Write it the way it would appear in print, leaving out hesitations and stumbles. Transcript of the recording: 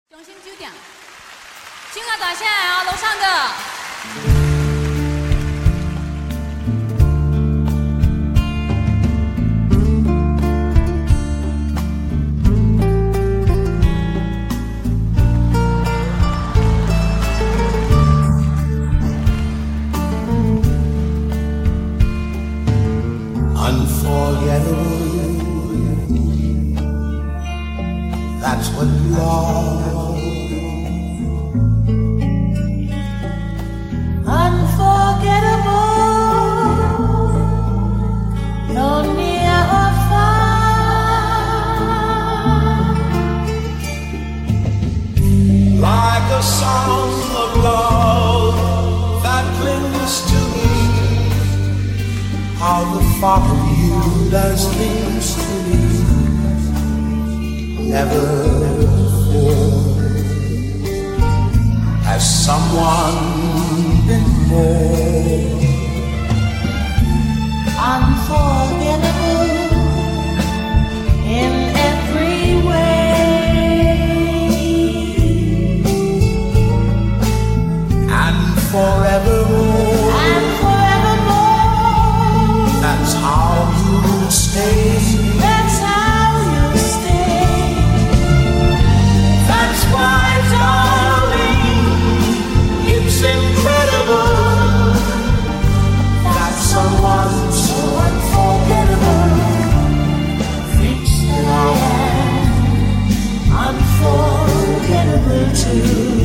中心酒店，请个大声啊，楼上的。 Unforgettable, that's what love. Unforgettable, you're near or far. Like a song of love that clings to me, how the thought of you does things to me. Never before has someone been more Unforgettable in every way. and forevermore. And forevermore, That's how you stay. that's how you stay. That's why, darling, it's incredible that someone so unforgettable thinks that I am unforgettable too.